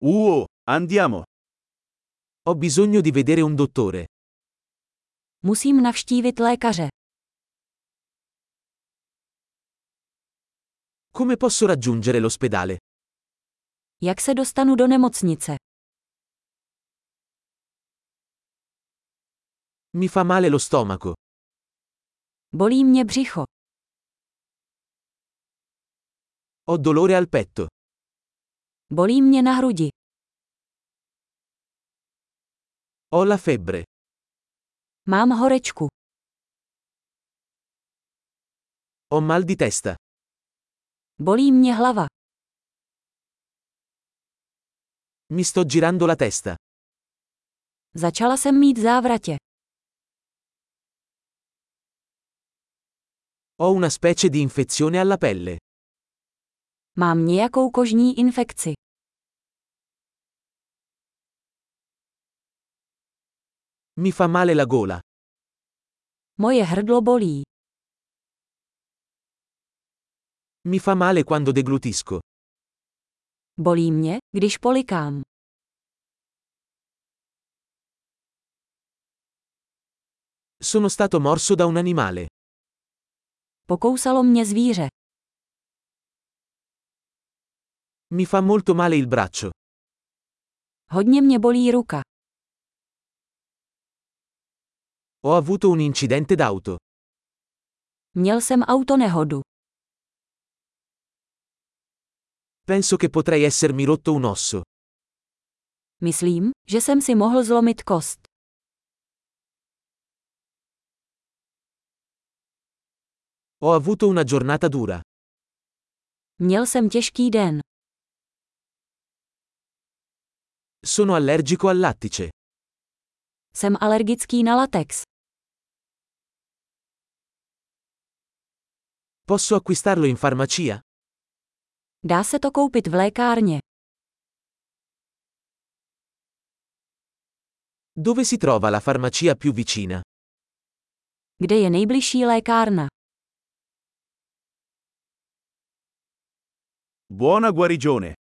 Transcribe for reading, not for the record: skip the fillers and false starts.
Andiamo. Ho bisogno di vedere un dottore. Musím navštívit lékaře. Come posso raggiungere l'ospedale? Jak se dostanu do nemocnice? Mi fa male lo stomaco. Bolí mě břicho. Ho dolore al petto. Bolí mě na hrudi. Ho la febbre. Mám horečku. Ho mal di testa. Bolí mě hlava. Mi sto girando la testa. Začala jsem mít závratě. Ho una specie di infezione alla pelle. Mám nějakou kožní infekci. Mi fa male la gola. Moje hrdlo bolí. Mi fa male quando deglutisco. Bolí mě, když polikám. Sono stato morso da un animale. Pokousalo mě zvíře. Mi fa molto male il braccio. Hodně mě bolí ruka. Ho avuto un incidente d'auto. Měl jsem autonehodu. Penso che potrei essermi rotto un osso. Myslím, že jsem si mohl zlomit kost. Ho avuto una giornata dura. Měl jsem těžký den. Sono allergico al lattice. Jsem alergický na latex. Posso acquistarlo in farmacia? Dá se to koupit v lékárně. Dove si trova la farmacia più vicina? Kde je nejbližší lékárna? Buona guarigione.